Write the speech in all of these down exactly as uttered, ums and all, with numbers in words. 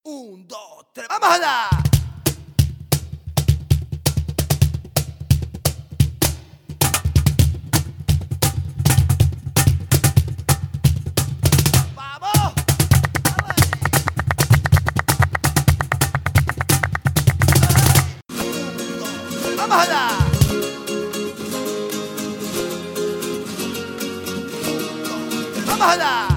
Un, dos, tres, ¡vamos allá! ¡Vamos! ¡Vamos allá! ¡Vamos allá!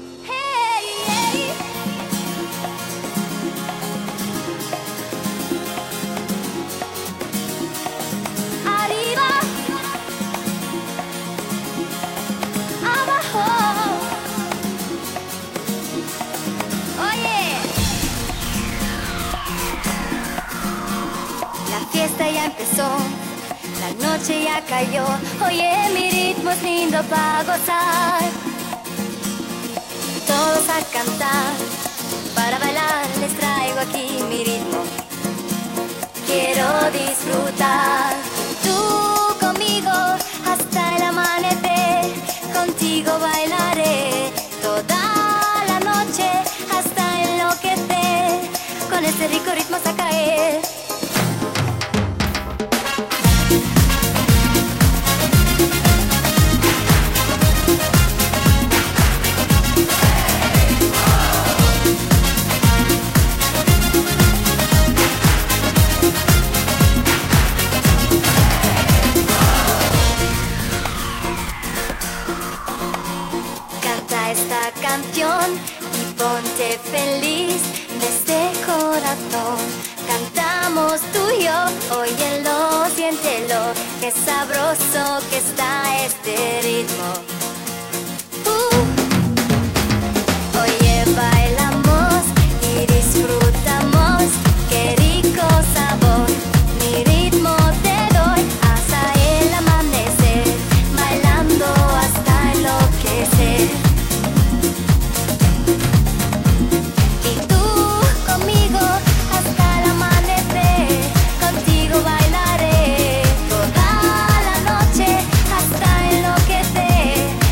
La fiesta ya empezó, la noche ya cayó. Oye, mi ritmo es lindo para gozar. Todos a cantar, para bailar les traigo aquí mi ritmo. Quiero disfrutar, tú conmigo hasta el amanecer. Contigo bailaré toda la noche hasta enloquecer. Con este rico ritmo hasta caer. Esta canción y ponte feliz desde corazón. Cantamos tú y yo, óyelo, siéntelo, qué sabroso que está este ritmo. Uh. Oye, bailamos y disfrutamos, qué rico sabor. Mi ritmo te doy hasta el amanecer, bailando hasta enloquecer. Bailaré toda la noche hasta enloquecer.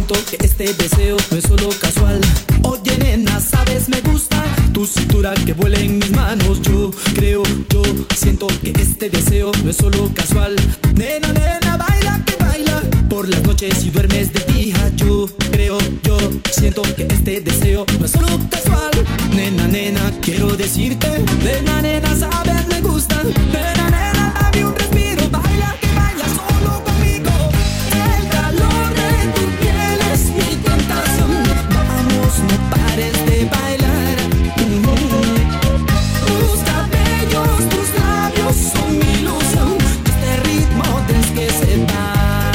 siento que este deseo no es solo casual. Oye nena, sabes, me gusta tu cintura que vuela en mis manos. Yo creo, yo siento que este deseo no es solo casual. Nena, nena, baila que baila por las noches y duermes de día. Yo creo, yo siento que este deseo no es solo casual. Nena, nena, quiero decirte, nena, nena, sabes, me gusta. Nena, nena, dame un respiro, baila que baila solo conmigo. El calor de tu piel es mi tentación. Vamos, no pares de bailar. Mm-hmm. Tus cabellos, tus labios son mi ilusión. Este ritmo tienes que se va.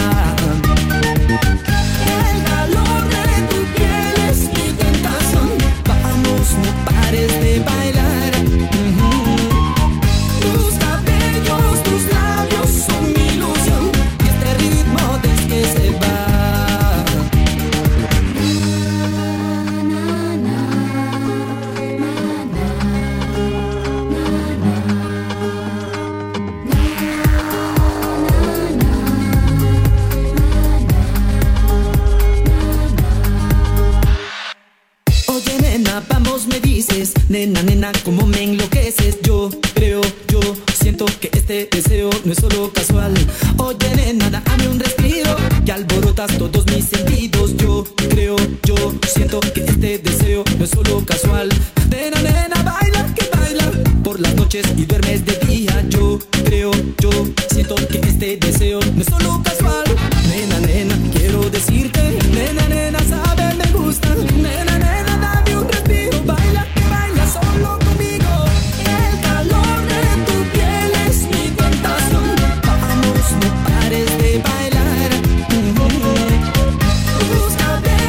El calor de tu piel es mi tentación. Vamos, no pares de bailar. Mm-hmm. Tus cabellos, tus labios son mi ilusión. Y este ritmo tienes que se va. Oye nena, vamos me dices, nena, nena, como me enloqueces. Yo creo, yo siento que este deseo no es solo casual. Oye nena, dame un respiro, que alborotas todos mis sentidos. Yo creo, yo siento que este deseo no es solo casual. Nena, nena, baila que baila por las noches y duermes de día. Yo creo, yo siento que este deseo no es solo casual. Nena, nena, quiero decirte, nena, nena, sabes, me gusta. Nena, nena, dame un respiro, baila que baila solo conmigo. El calor de tu piel es mi tentación. Vamos, no pares de bailar. Mm-hmm. Tus cabellos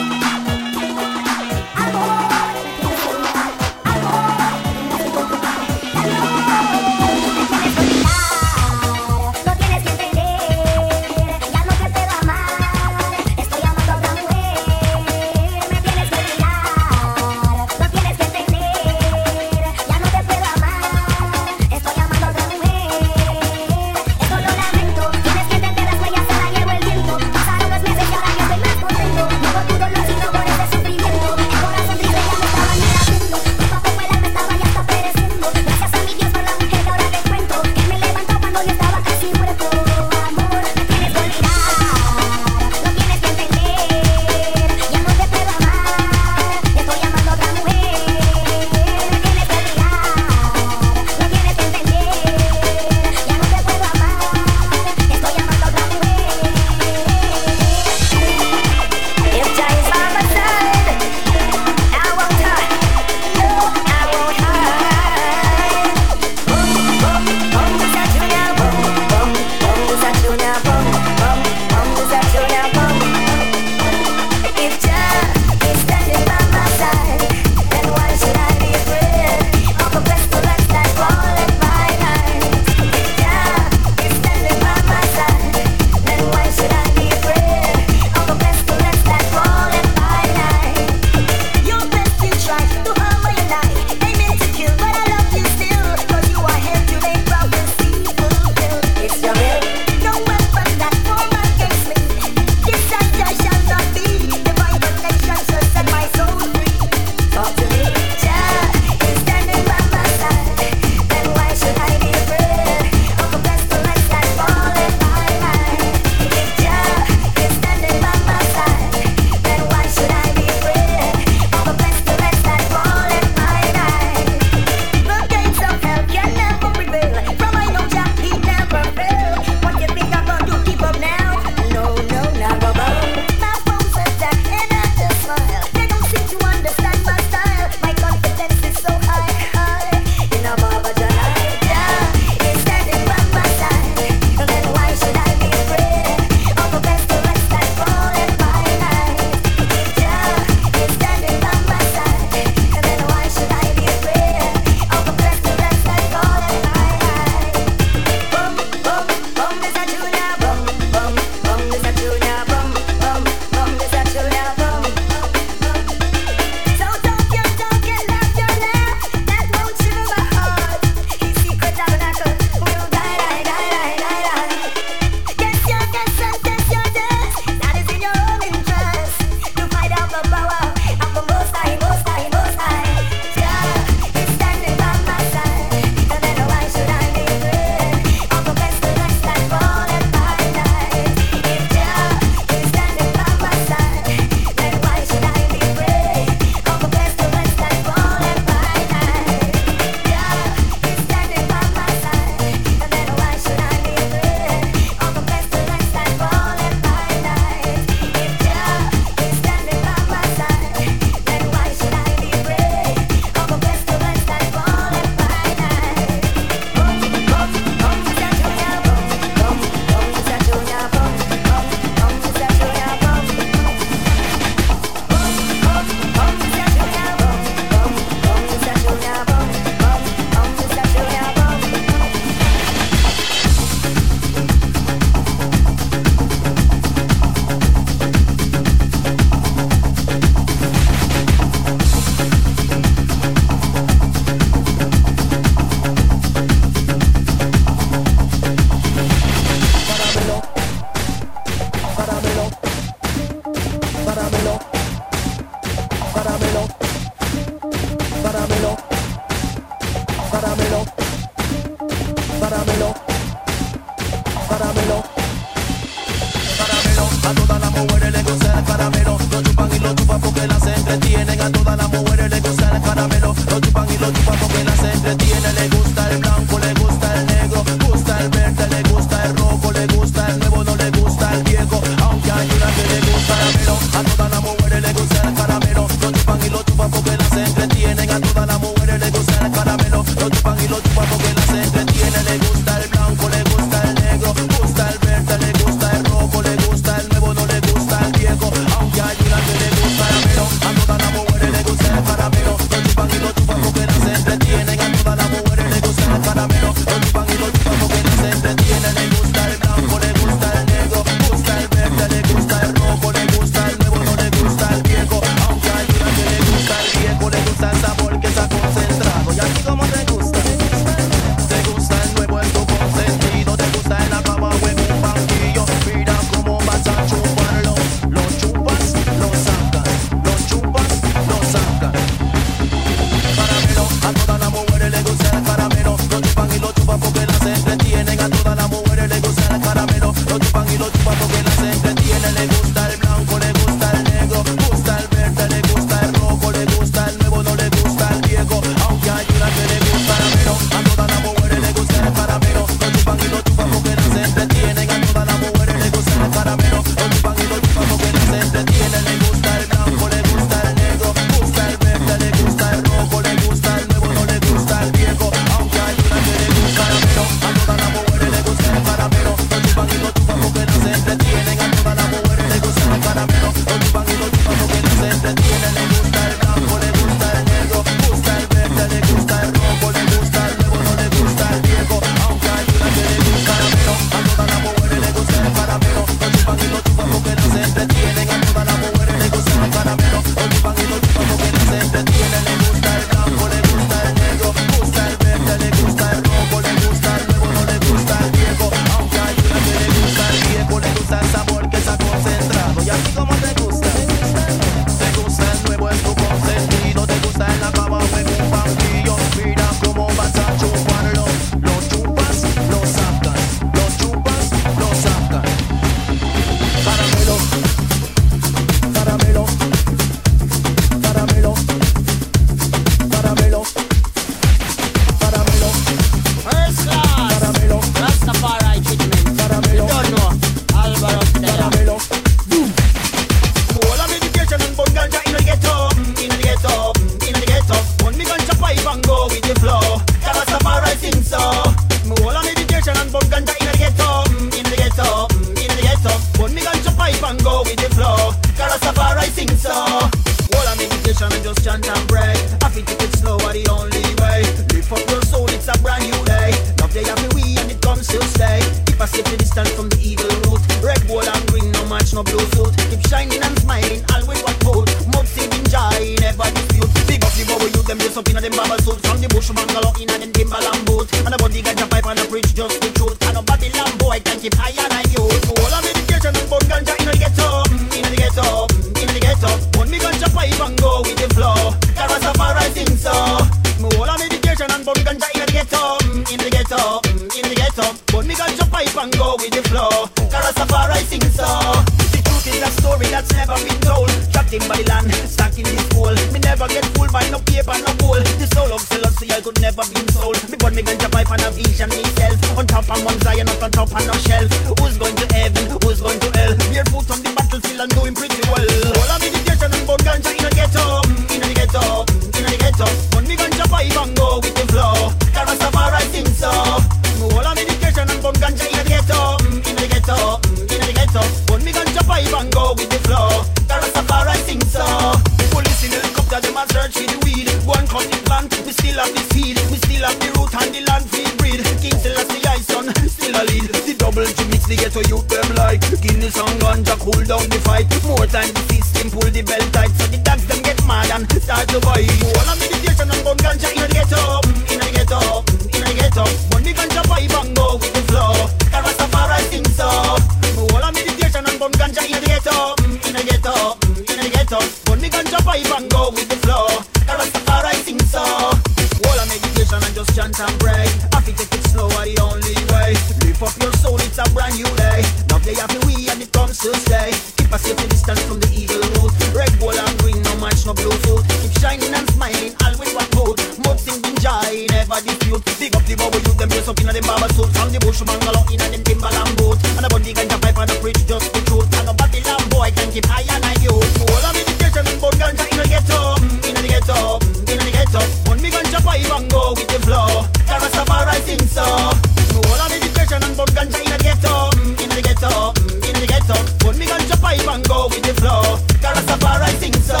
dress up in a them bubble suit. From the bush bungalow in a them Timberland boot. And a body ganja pipe and a preach just the truth. And a Babylon boy can keep higher than you. All of meditation and bun ganja in the ghetto, in the ghetto, in the ghetto. Bun me ganja pipe and go with the flow. Rastafari sing so. All of meditation and bun ganja in the ghetto, in the ghetto, in the ghetto. Bun me ganja pipe and go with the flow. Rastafari sing so. The truth is a story that's never been told. Trapped in Babylon, stuck in this hole. Me never get fooled by no paper, no gold. The soul of Selassie I could never be sold. Me burn me ganja pipe and a vision myself. On top of Mount Zion, not on top of no shelf. Who's going to heaven? Who's going to hell? Barefoot on the battlefield and doing pretty well. All of meditation and burn ganja in a ghetto, in a ghetto, in a ghetto. Burn me ganja pipe and go with the flow. Rastafari sing so. All of meditation and burn ganja in a ghetto, in a ghetto, in a ghetto. Burn me ganja pipe and go with the flow. Rastafari sing so. Police in helicopter, them a search for the weed. Go and cut the plant, we still have the seed. We still have the root and the land feed breed. King Selassie I son, still a lead. The double to mix the ghetto youth them like Guinness and ganja cool down the fight. More time the system pull the belt tight. So the dogs them get mad and start to bite. All of meditation and bun ganja in the ghetto, in the ghetto, in the ghetto. Bun the ganja pipe and go with the flow. Rastafari sing so. All of meditation and bun ganja in the ghetto, in the ghetto, in the ghetto. Bun the ganja pipe and go with the flow. Rastafari sing so. All of meditation and just chant and pray. I fi take it slow are the only way. Lift up your soul, it's a brand new day. Now they have to we and it comes to stay. Keep a safe distance from the evil root. Red, gold and green, no match, no Bluetooth. Keep shining and smiling, always one mood. Mud singing joy, never dispute. Big up the bubble youth, them dress up in a them barber suit. From the bush bungalow in a them Timberland boot. And a body ganja pipe and a preach just the truth. And a Babylon boy can keep higher than you. All of meditation and bun ganja in the ghetto, in the ghetto, in the ghetto. Bun me ganja pipe and go with the flow. Rastafari sing so. All of meditation and bun ganja in the ghetto, in the ghetto, in the ghetto. Bun me ganja pipe and go with the flow. Rastafari sing so.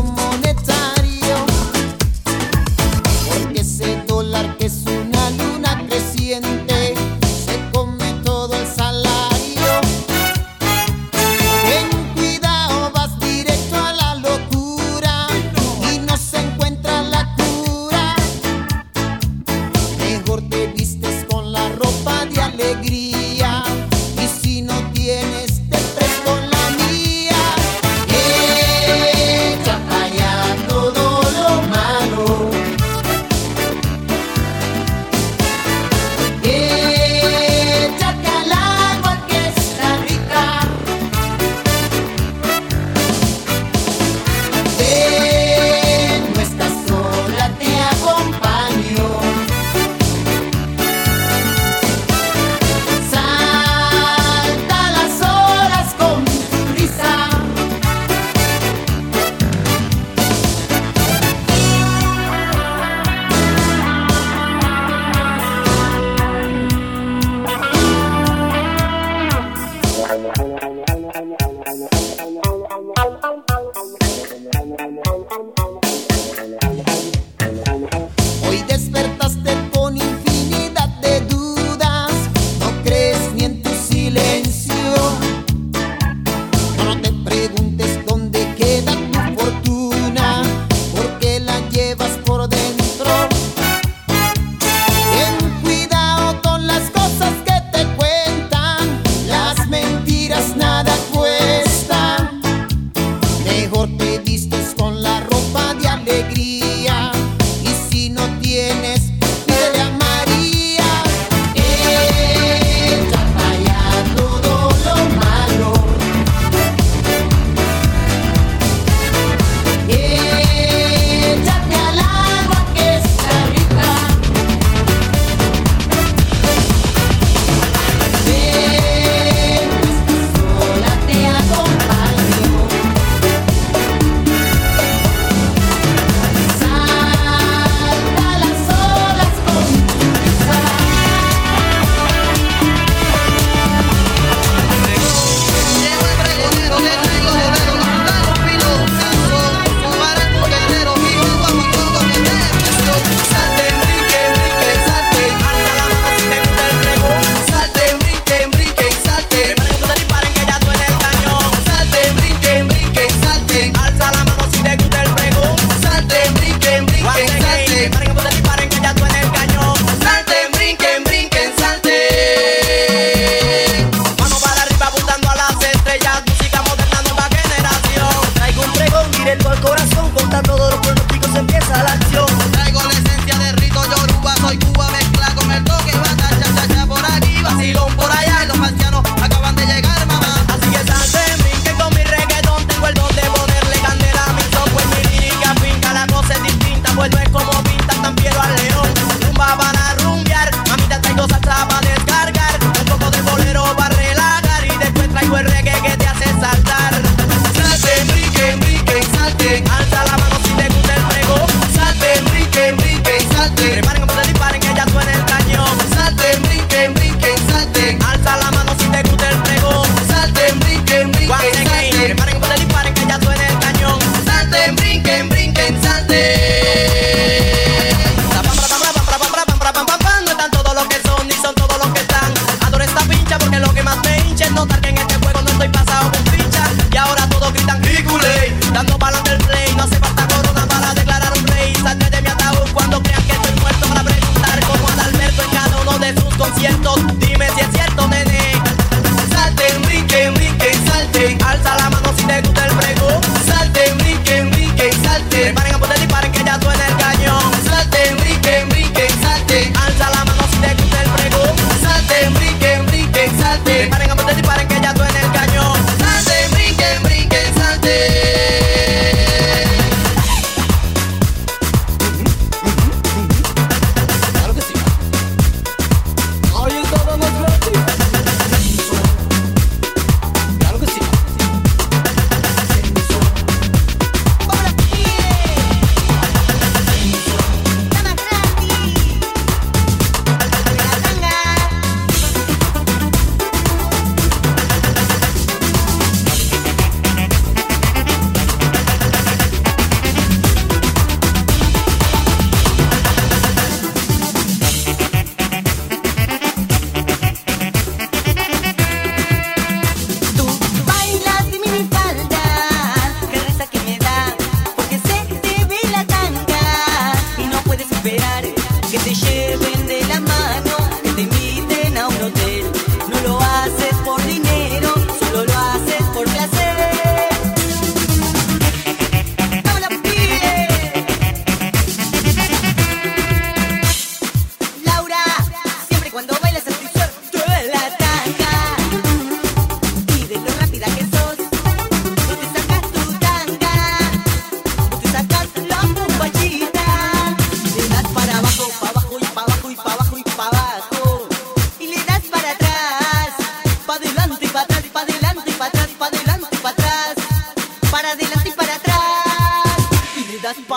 Porque ese dólar que es una luna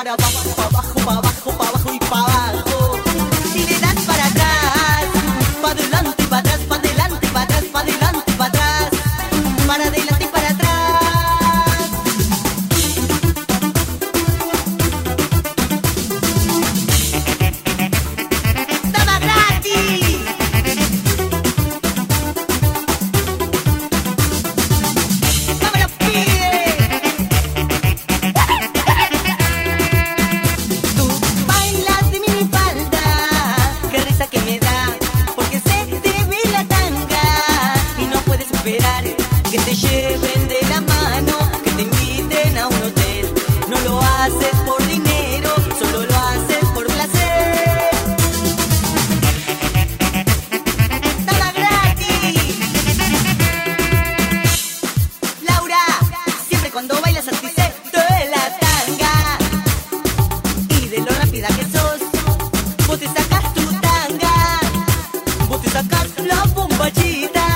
para abajo, para abajo, para abajo, para abajo y para abajo. Y le das para atrás, para adelante y para atrás, para adelante y para atrás, para adelante y para atrás, para adelante y para atrás. ¡Toma gratis! ¡Vámonos, pide! Tú bailas de mi falda, qué risa que me da, porque se te ve la tanga y no puedes esperar que te lleven de la mano, que te inviten a un hotel. No lo haces por dinero, solo lo haces por placer. ¡Toma gratis! Laura, siempre cuando bailas así se te ve la tanga. Y de lo rápida que sos, vos te sacas tu tanga, vos te sacas la bombachita,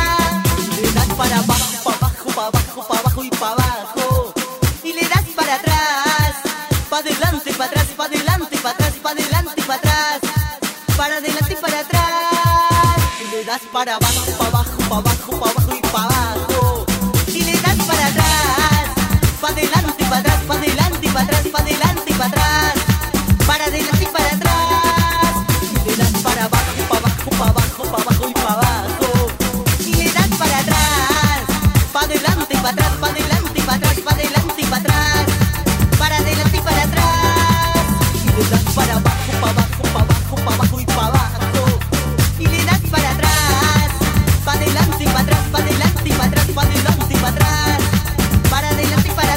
le das para abajo, para abajo, para abajo, para abajo y para abajo, y le das para atrás, para adelante, para atrás, para adelante, para atrás, para adelante y para atrás, para adelante y para atrás, y le das para abajo, para abajo, para abajo, para abajo y para abajo, y le das para atrás, para adelante, para atrás, para adelante y para atrás, para adelante y para atrás, para adelante y para atrás, y le das para abajo, para abajo, para abajo, para abajo y para abajo, y le das para atrás, para adelante y para atrás, para adelante y para atrás, para adelante y para atrás, para adelante y para atrás, y le das para abajo, para abajo, para abajo, para abajo y para abajo, y le das para atrás, para adelante y para atrás, para adelante y para atrás, para adelante y para atrás, para adelante y para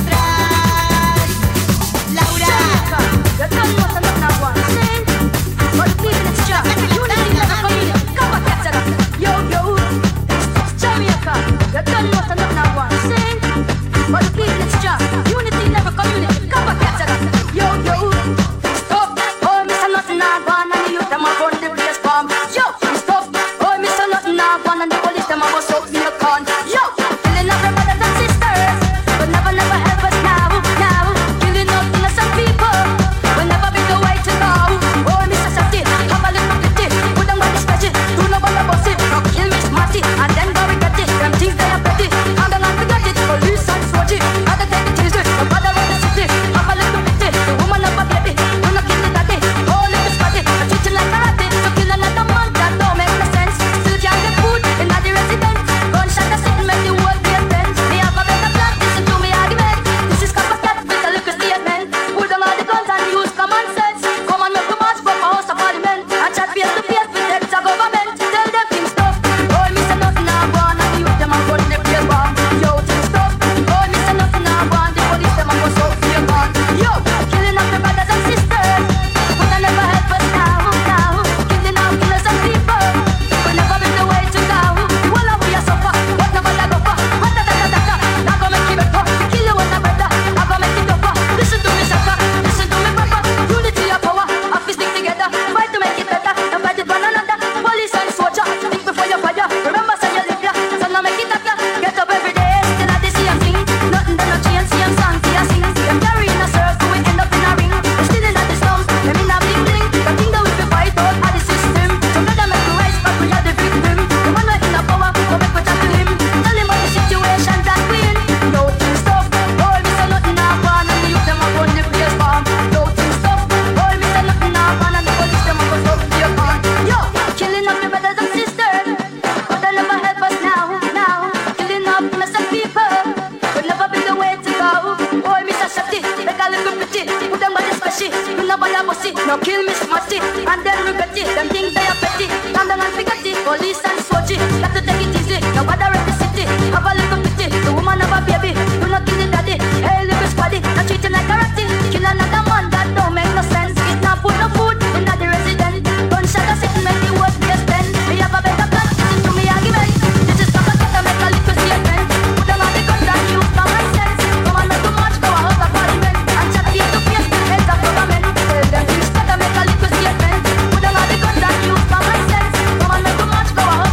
atrás. Laura, You don't know some nothing I want to sing, but even it's just unity never come in. Come back at us, yo yo. It's Jamaica. You don't know some nothing I want to sing, but even it's just unity never come in. Come back at us, yo yo. Stop, oh Mister Nothing I want and the youth them a run the place from. Yo, stop, oh Mister Nothing I want and the police them a bust up in the con. Yo, killing off our brothers and sisters, but never never help us now, now. Killing off innocent people. Will never be the way to go. Oh, Mister Safety, have a little pity. Put them on the spreadsheet. Do not bother about it. Now kill me smarty, and then go regret it. Them things they are petty, and then I forget it. Police and swatchy, gotta take it easy. No bother about the city. Have a little pity. The woman of a baby, do not kill the daddy. Oh, little spotty, I treat you like karate. So kill another man, that don't make no sense. Still can't get food in the residence. Gunshot a sitting, make the world be a fence. Me have a better plan, listen to me argument. This is Coppercat with a little statement. Put them all the guns and use common sense. Come on, make we march from our house of parliament and chat face to face with heads of government. Tell them things stuff. Oh, Mister Nothing I want and the youth them a run the place bomb. Yo, things stuff. Oh, Mister Nothing I want, the police them a bust out fear gun. Yo, killing off the brothers and sisters, but they never help us now, now. Killing off innocent people, will never be the way to go. Well, we are suffer, but never let go for. What da da da da da, not gonna make it better. Kill you with a brother, not gonna make it tougher. Listen to me, sucker, listen to me, brother. Unity of power, have to stick together, fight to make it better, and fight it one another. Police and soldier, think before you fire. Remember, say you live here, so now make it happen. Get up every day, still at the same thing. Nothing done no change, same song, see a sing. Them carrying a circle, we end up in a ring. We still in the slums, them in a bling bling. The thing that we fi fight out are the system. Together make we rise, but we are the victim. The man we in a power, go make we chat to him. Tell him about the situation that we in. No thing stuff, oh Mister Nothing I want and the youth them a run the place bomb. No thing stuff, oh Mister Nothing I want and the police them a bust up their gun. Yo, killing off the brothers and sisters, but they never help us now, now. Killing off innocent people, will never be the way to go. Oh Mister Shafty, make a little pretty, put them on the spreadsheet. You know what I must see, now kill me smarty, and then regret it. Them things they are petty, and then I forget it. Police and swatchy, got to take it easy. Now bother at the city, have a little pity. The woman of a baby, do not kill the daddy. Hey little squaddy, not treating like karate. Kill another man, that don't make no sense. It not put no food in the resident. Gunshot a sitting, make the world be a stand. We have a better plan, listen to me argument. This is Papa Cat, make a little statement. Put them on the guns and use common sense. Come on, make too much, go out of parliament and chat face to face with heads of government. Tell them things better, make a little statement. Put them on the guns and use common sense. Come on, make too much, go out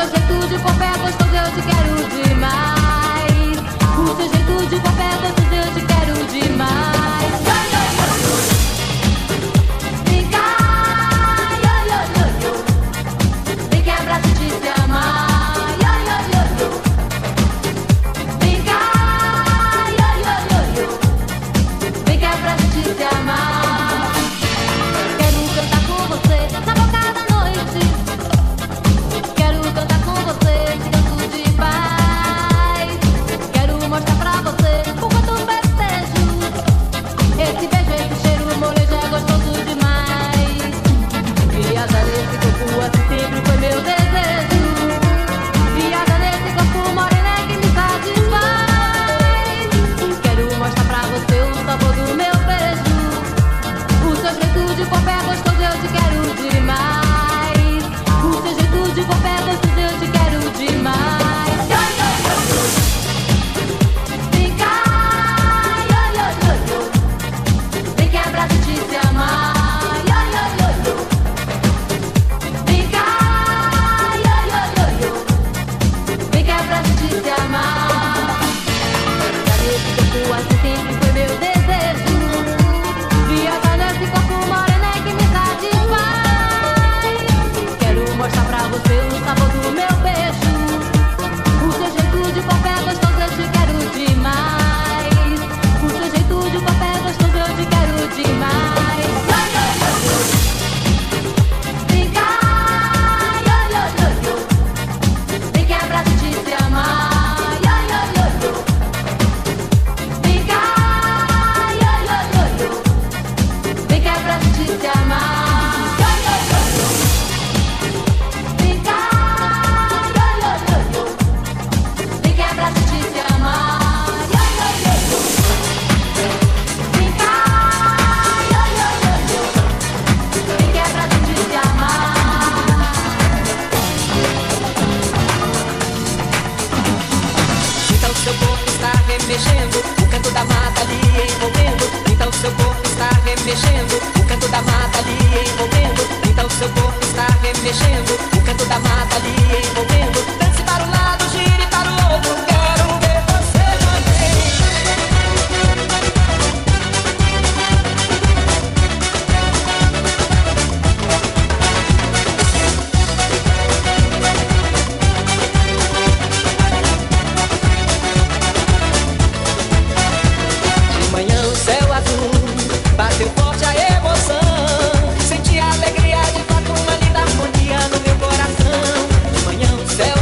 seu jeito de corpo é gostoso, eu te quero demais. O seu jeito de corpo é gostoso, eu te quero demais. Vem cá, yo, yo, yo, yo. Vem que abraço de se amar, yo, yo, yo, yo. Vem cá, yo, yo, yo, yo. Vem que abraço de se amar. Quero cantar com você na boca da noite. Quero cantar com você esse canto de paz. Quero mostrar pra você o quanto festejo. Esse beijo, esse cheiro, molejo é gostoso demais. Viajar nesse corpo assim sempre foi meu desejo. Viajar nesse corpo morena que me satisfaz. Quero mostrar pra você o sabor do meu beijo. O seu jeito de corpo é gostoso, eu te quero demais. O seu jeito de corpo é gostoso, eu te quero demais. Yo, yo, yo, yo. Vem cá, yo, yo, yo, yo. Vem que abraço de se amar, yo, yo, yo, yo. Vem cá, yo, yo, yo, yo. Vem que abraço de se amar. Já nesse corpo assim sempre foi meu desejo. Viajar nesse corpo morena que me satisfaz. Quero mostrar pra você o sabor do meu beijo. O seu jeito de corpo é gostoso, eu te quero demais. O seu jeito de corpo é gostoso, eu te quero demais. Yo, yo, yo, yo. Vem cá, yo, yo, yo, yo. Vem que abraço de se amar, yo, yo, yo, yo. Vem cá, yo, yo, yo, yo. Vem que abraço de se amar, yo, yo, yo, yo. Vem cá, yo, yo, yo, yo. Vem que abraço de se amar, yo, yo, yo, yo. Vem cá, yo, yo, yo, yo. Vem que abraço de se amar. Então seu corpo está remexendo, o canto da mata lhe envolvendo. Então seu corpo está remexendo, o canto da mata lhe envolvendo. Então seu corpo está remexendo, o canto da mata lhe envolvendo. Dance para um lado, gire para o outro, quero ver você também. De manhã o céu azul bateu forte a emoção. Senti a alegria de fato, uma linda harmonia no meu coração. De manhã o céu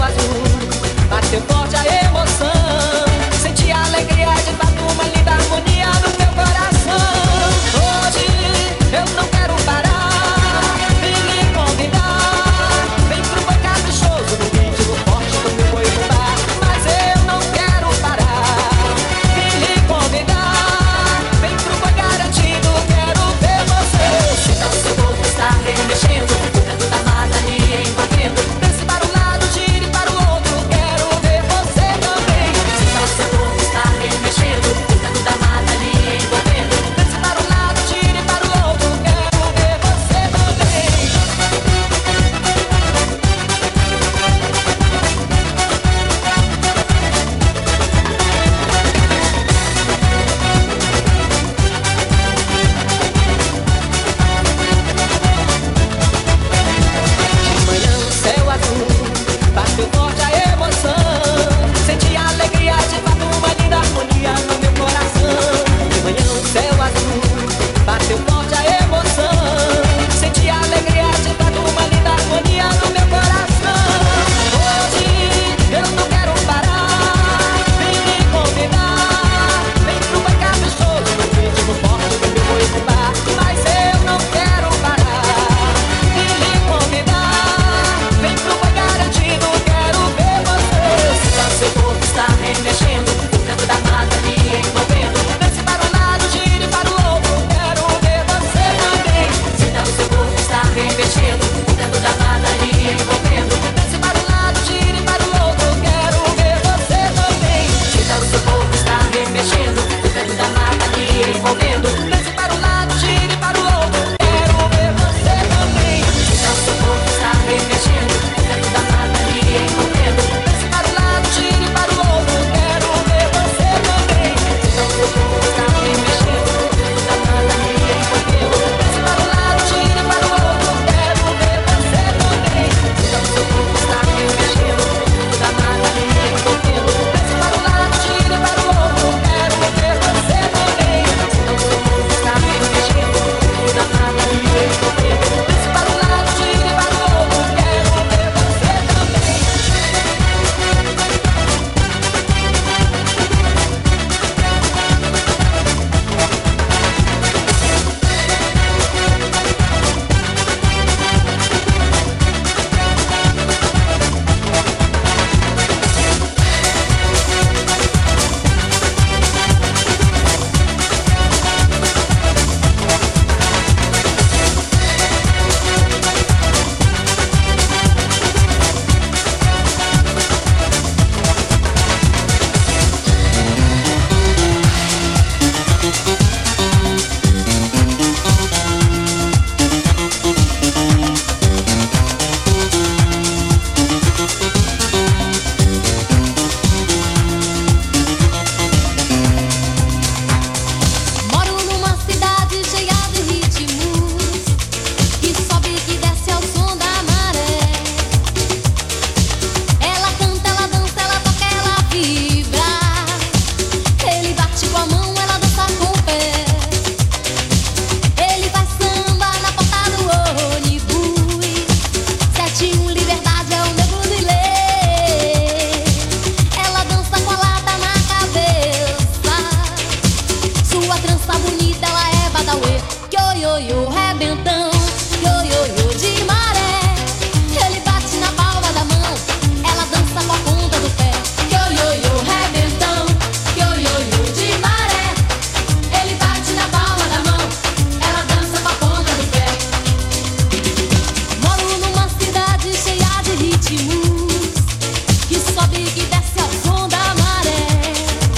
ritmos que sobe e que desce ao som da maré.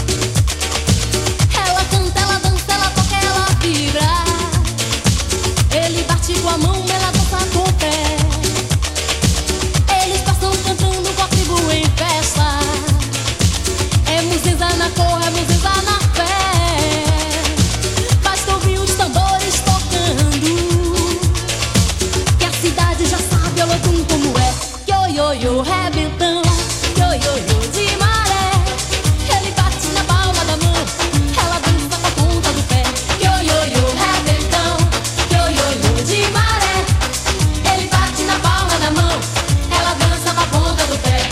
Ela canta, ela dança, ela toca, ela vibra. Ele bate com a mão, ela dança com o pé. Eles passam cantando com a tribo em festa. É muziza na cor, é muziza na fé. Basta ouvir os tambores tocando, que a cidade já sabe o Olodum como é. Yo, yo, yo, rebentão. Yo, yo, yo, de maré. Ele bate na palma da mão, ela dança com a ponta do pé. Yo, yo, yo, rebentão. Yo, yo, yo, de maré. Ele bate na palma da mão, ela dança com a ponta do pé.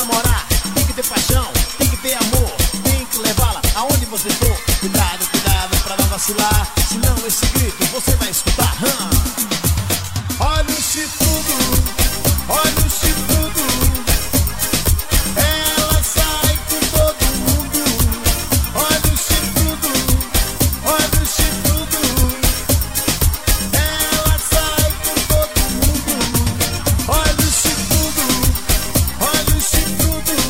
namorar, tem que ter paixão, tem que ter amor, tem que levá-la aonde você for. Cuidado, cuidado pra não vacilar, senão esse grito você vai escutar. Hum. Olha o chifrudo, olha o chifrudo, ela sai com todo mundo. Olha o chifrudo, olha o chifrudo, ela sai com todo mundo. Olha o chifrudo, olha o chifrudo,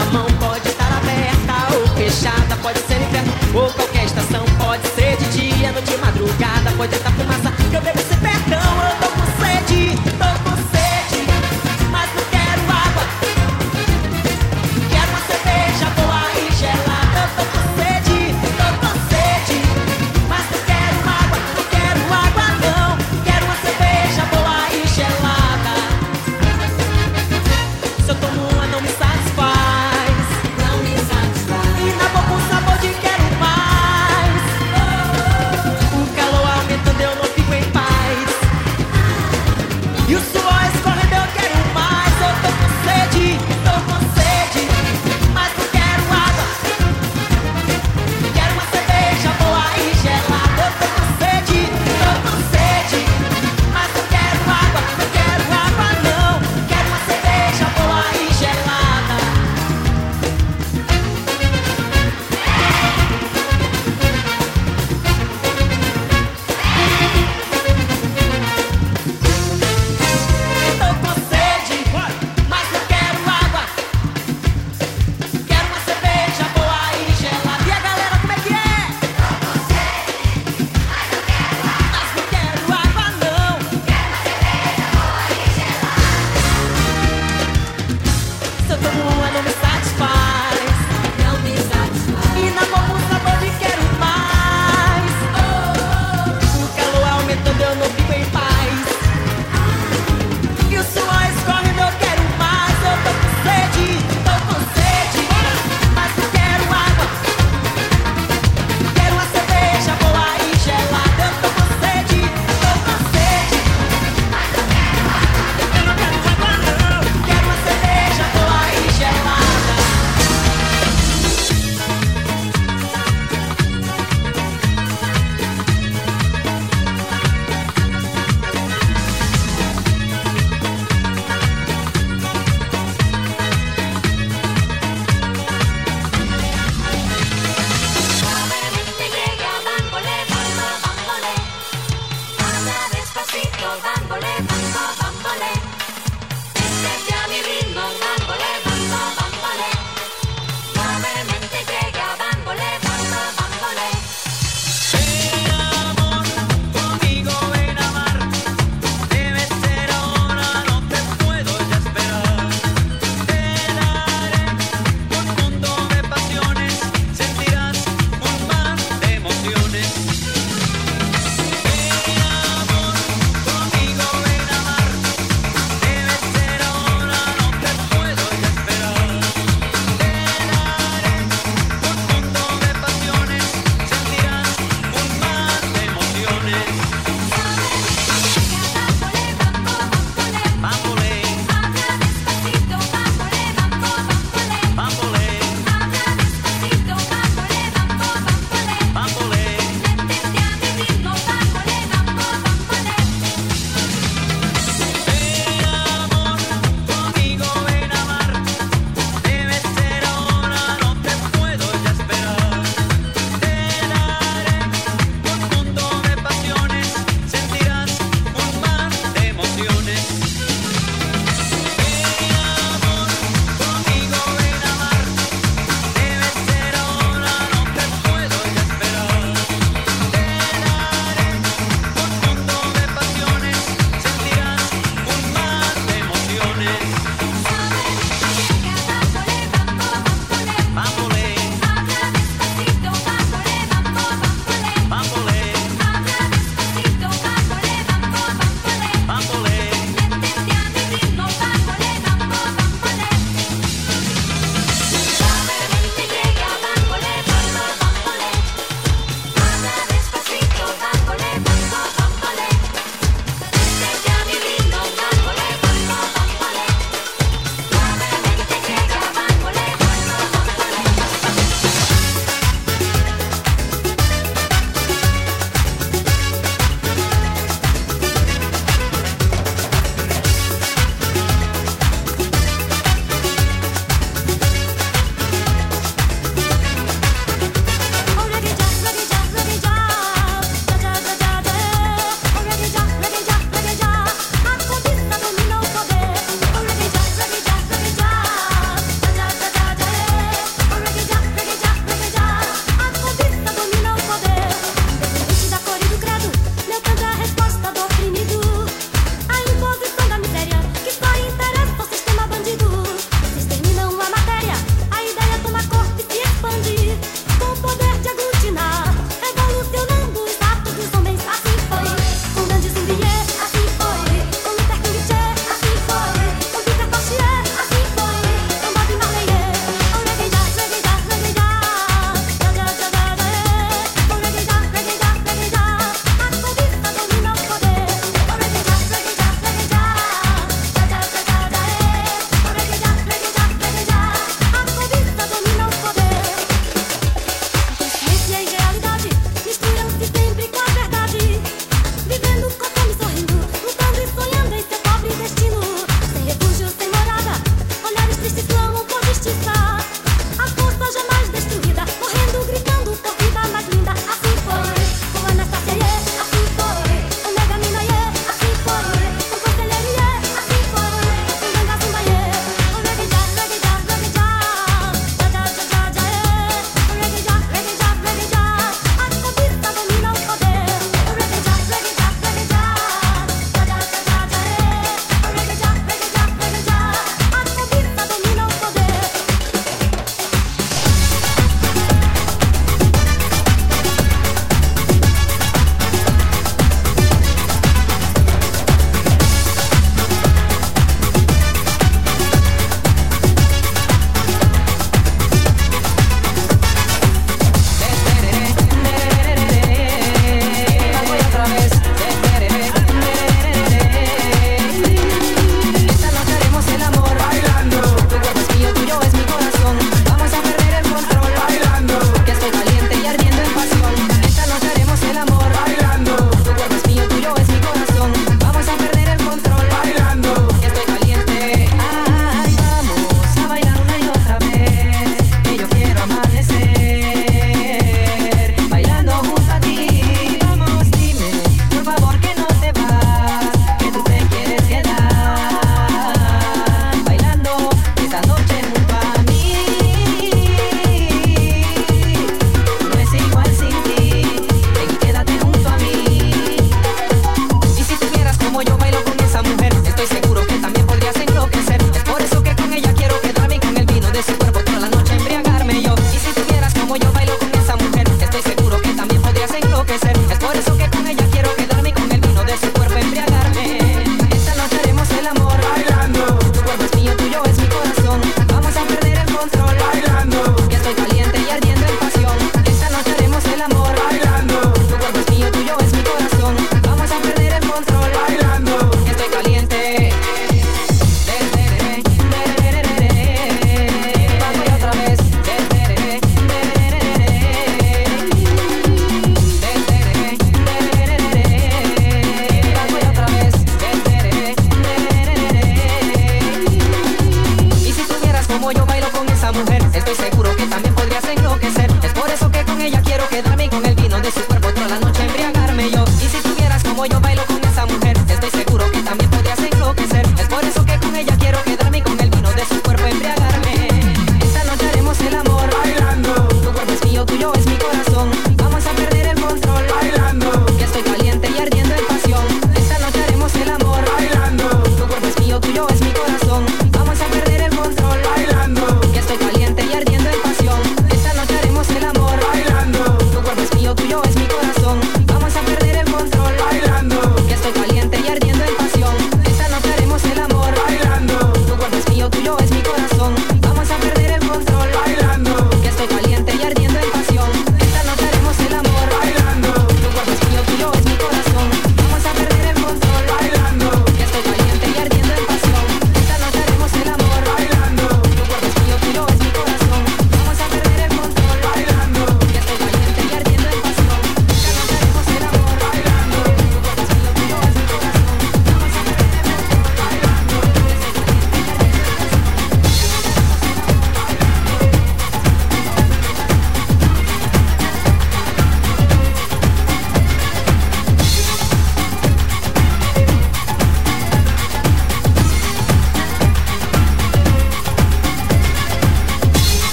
sua mão pode estar aberta ou fechada, pode ser no inverno ou qualquer estação. Pode ser de dia, noite, madrugada, pode estar fumaça, que eu bebo esse perdão. Eu tô com sede, tô com sede, mas não quero água. Quero uma cerveja boa e gelada. Eu tô com sede, tô com sede, mas não quero água, não quero água não. Quero uma cerveja boa e gelada. Se eu tomo uma não me satisfaz, não me satisfaz. E na boca um sabor de quero mais. O calor aumentando, eu não fico em paz. E o suor escorrendo, eu quero mais. Eu tô com sede, tô com sede, mas não quero água. Quero uma cerveja boa e gelada. Eu tô com sede, tô com sede, mas não quero água, não quero água não. Quero uma cerveja boa e gelada.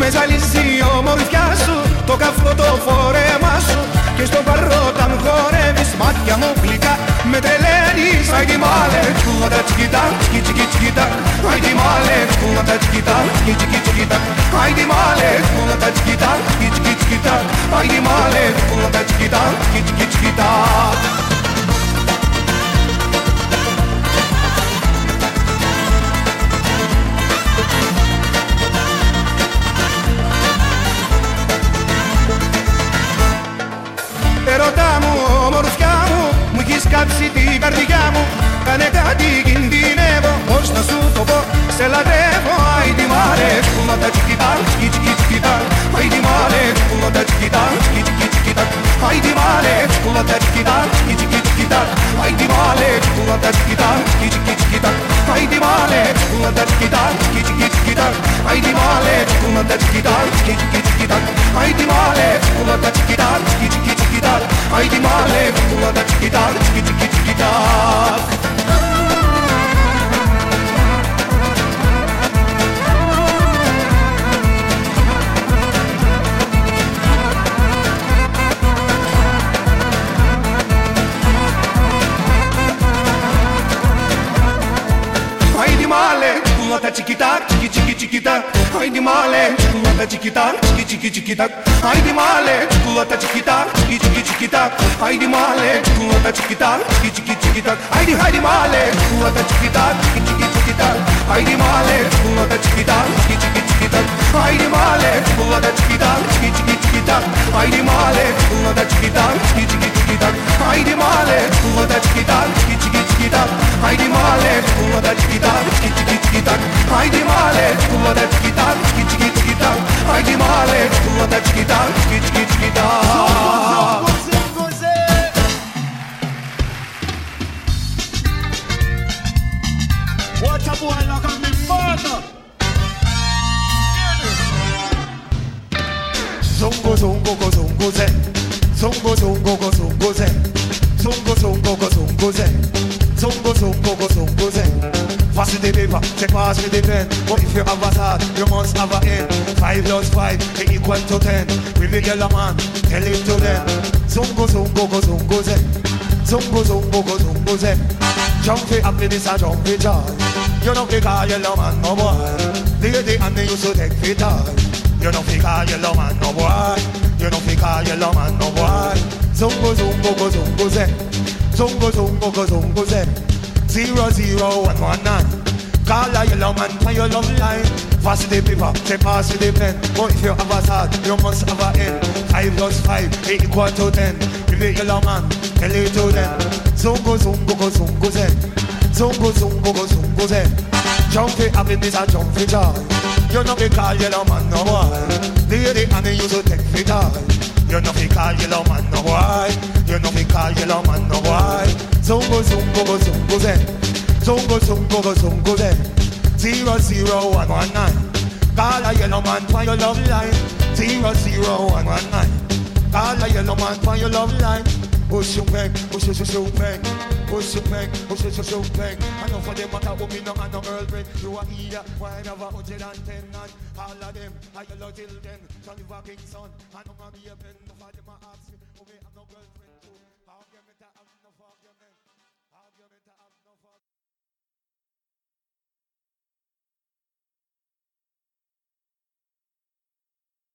με ζαλίζει ο μορφιά σου, το καυτό το φόρεμά σου και στο παρό όταν χορεύεις μάτια μου γλυκά με τρελαίνεις. Άιντι μάλε, τσκούματα τσικίτα, τσικί τσικί τσικίτα. Άιντι μάλε, τσκούματα τσικίτα, τσικί τσικί τσικίτα. Άιντι μάλε, τσκούματα τσικίτα, τσικί τσικί τσικίτα. Άιντι μάλε, τσκούματα τσικίτα, τσικί τσικί τσικίτα. Ερώτα μου, ομορφιά μου, μου έχεις κάψει την καρδιά μου. Κάνε κάτι, κινδυνεύω, πώς να σου το πω, σε λατρεύω. Άιντι μάλε, σκούματα τσικίτα, τσικί τσικί τσικίτα. Άιντι μάλε, σκούματα τσικίτα, τσικί τσικί τσικίτα. Άιντι μάλε, σκούματα τσικίτα, τσικί τσικί τσικίτα. Άιντι μάλε, σκούματα τσικίτα, τσικί τσικί τσικίτα. Άιντι μάλε, σκούματα τσικίτα, τσικί τσικί τσικίτα. Άιντι μάλε, σκούματα τσικίτα, τσικί τσικί τσικίτα. Άιντι μάλε, σκούματα τσικίτα, τσικί τσικί τσικίτα. Άιντι μάλε, σκούματα τσικίτα, τσικί τσικί τσικίτα. Τα τσικιτά, τσικι τσικι τσικιτά. Άιντι μάλε, τσικουλάτα τσικιτά, τσικι τσικι τσικιτά. Άιντι μάλε, τσικουλάτα τσικιτά, τσικι τσικι τσικιτά. Άιντι μάλε, τσικουλάτα τσικιτά, τσικι τσικι τσικιτά. Άιντι άιντι μάλε, τσικουλάτα τσικιτά, τσικι τσικι τσικιτά. Άιντι μάλε, τσικουλάτα τσικιτά, τσικι τσικι τσικιτά. Άιντι μάλε, τσικουλάτα τσικιτά, τσικι τσικι τσικιτά. Άιντι μάλε, τσικουλάτα τσικιτά, τσικι τσικι τσικιτά. Άιντι μάλε, τσικουλάτα τσικιτά, τσικι τσικι τσικιτά. Άιντι μάλε, τσικουλάτα τσικιτά, τσικι τσικι τσικιτά. Άιντι μάλε, τσικουλάτα τσικιτά, τσικι τσικι τσικιτά. Άιντι μάλε, τσικουλάτα τσικιτά, τσικι τσικι τσικιτά. What a boy like a me father. Zongo zongo go zongo ze. Zongo zongo go zongo ze. Zongo zongo go zongo ze. Zongo zongo go zongo ze. Fast the paper, check pass with the pen. But if you have a start, you must have a end. Five plus five, is equal to ten. With the yellow man, tell it to them. Zongo zongo go zongo ze. Zongo zongo go zongo ze. Jump for happiness and jump for joy. You know fi call yellow man no boy. Lady and they used to take fi toy. You know fi call yellow man no boy. You know fi call yellow man no boy. Zongo zongo go zongo ze. Zongo zongo go zongo ze. Zero zero one one nine. Call a yellow man for your love line. Fast the paper, take pass with the pen. But if you have a start, you must have a end. Five plus five, is equal to ten. With the yellow man, tell it to them. Zongo zongo go zongo ze. Zongo zongo go zongo ze. Jump for happiness and jump for joy. You know fi call yellow man no boy. Lady and they used to take fi toy. You know fi call yellow man no boy. You know fi call yellow man no boy. Zongo zongo go zongo ze. Zongo zongo go zongo ze. Zero zero one one nine. Call a yellow man for your love line. Zero zero one one nine. Call a yellow man for your love line. Push you back, push you so back. Push you back, push you so back. I know for them matter who me no and no girlfriend. You are here, why never one hundred ten and all of them. I yellow till then. Johnny Kingston, I know my be a pen.